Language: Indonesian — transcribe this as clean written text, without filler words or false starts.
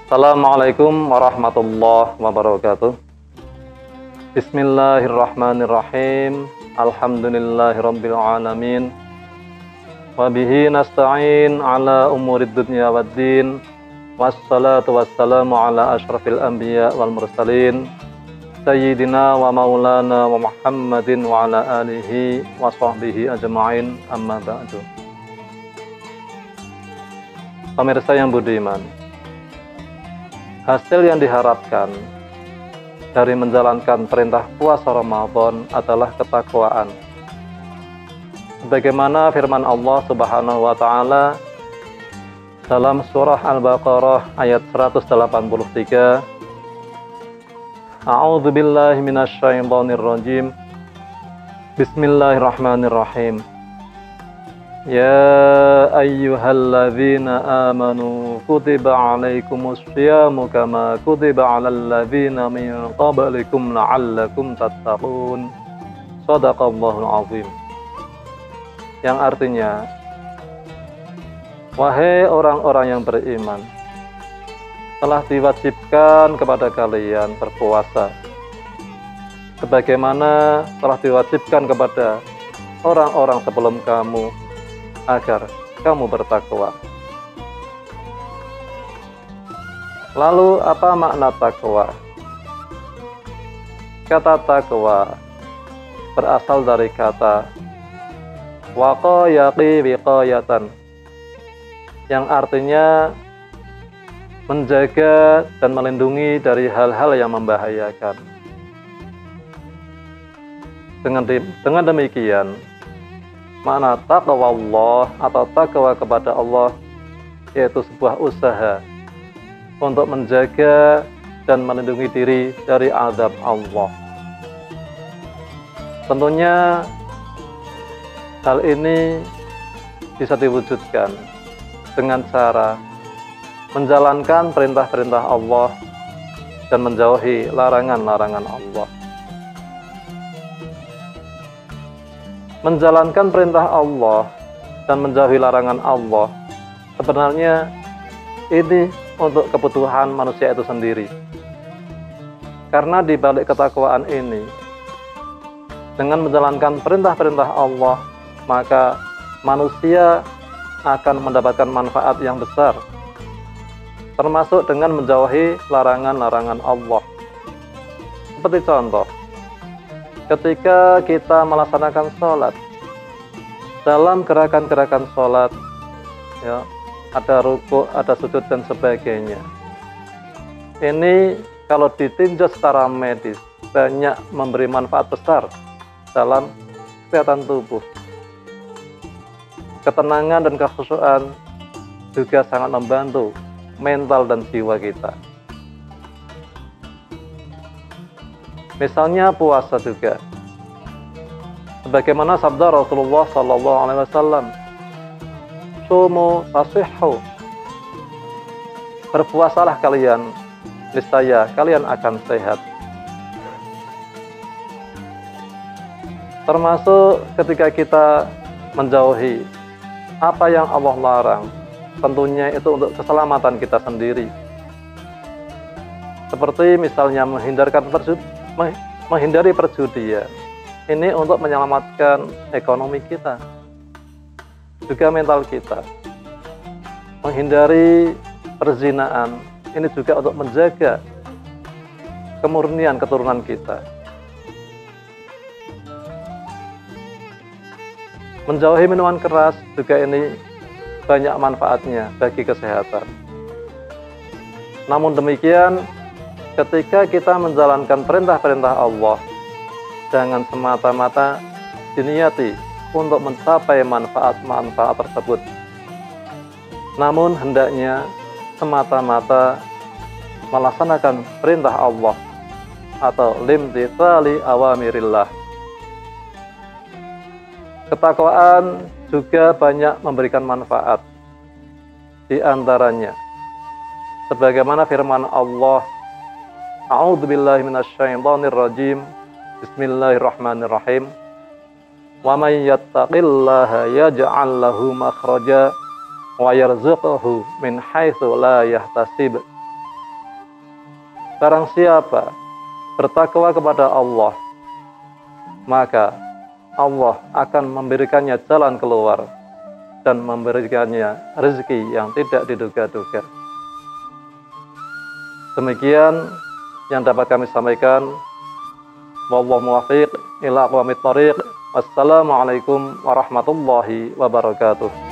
Assalamualaikum warahmatullahi wabarakatuh. Bismillahirrahmanirrahim. Alhamdulillahirabbil alamin. Wa bihi nasta'in ala umurid dunya waddin. Wassalatu wassalamu ala asyrafil anbiya wal mursalin. Sayyidina wa maulana wa Muhammadin wa ala alihi wa sahbihi ajma'in, amma ba'du. Pemirsa yang budiman, hasil yang diharapkan dari menjalankan perintah puasa Ramadan adalah ketakwaan. Sebagaimana firman Allah Subhanahu wa taala dalam surah Al-Baqarah ayat 183, A'udzu billahi minasyaitonir rajim. Bismillahirrahmanirrahim. Ya ayyuhalladzina amanu kutiba alaikumus syiyamu kama kutiba alal ladzina min qablikum la'allakum tattaqun. Shadaqallahul azim. Yang artinya, wahai orang-orang yang beriman, telah diwajibkan kepada kalian berpuasa sebagaimana telah diwajibkan kepada orang-orang sebelum kamu, agar kamu bertakwa. Lalu apa makna takwa? Kata takwa berasal dari kata waqayaqi wiqayatan, yang artinya menjaga dan melindungi dari hal-hal yang membahayakan. Dengan demikian, makna taqwa Allah atau takwa kepada Allah yaitu sebuah usaha untuk menjaga dan melindungi diri dari azab Allah. Tentunya hal ini bisa diwujudkan dengan cara menjalankan perintah-perintah Allah dan menjauhi larangan-larangan Allah. Menjalankan perintah Allah dan menjauhi larangan Allah sebenarnya ini untuk kebutuhan manusia itu sendiri. Karena di balik ketakwaan ini, dengan menjalankan perintah-perintah Allah, maka manusia akan mendapatkan manfaat yang besar, termasuk dengan menjauhi larangan-larangan Allah. Seperti contoh, ketika kita melaksanakan sholat, dalam gerakan-gerakan sholat, ya, ada ruku', ada sujud dan sebagainya. Ini kalau ditinjau secara medis banyak memberi manfaat besar dalam kesehatan tubuh. Ketenangan dan kekhusyuan juga sangat membantu mental dan jiwa kita. Misalnya puasa juga. Sebagaimana sabda Rasulullah SAW, "Sumu tasihhu." Berpuasalah kalian, niscaya kalian akan sehat. Termasuk ketika kita menjauhi apa yang Allah larang, tentunya itu untuk keselamatan kita sendiri. Seperti misalnya menghindari perjudian. Ini untuk menyelamatkan ekonomi kita, juga mental kita. Menghindari perzinaan, ini juga untuk menjaga kemurnian keturunan kita. Menjauhi minuman keras juga ini banyak manfaatnya bagi kesehatan. Namun demikian, ketika kita menjalankan perintah-perintah Allah, jangan semata-mata diniati untuk mencapai manfaat-manfaat tersebut. Namun hendaknya semata-mata melaksanakan perintah Allah atau limtitsali awamirillah. Ketakwaan juga banyak memberikan manfaat. Di antaranya, sebagaimana firman Allah, A'udzu billahi minasyaitonir rajim. Bismillahirrahmanirrahim. Wa may yattaqillaha yaj'al lahu makhraja wa yarzuqhu min haitsu la yahtasib. barang siapa bertakwa kepada Allah, maka Allah akan memberikannya jalan keluar dan memberikannya rezeki yang tidak diduga-duga. Demikian yang dapat kami sampaikan. Wallahu muwaffiq ila aqwamit thoriq. Wassalamualaikum warahmatullahi wabarakatuh.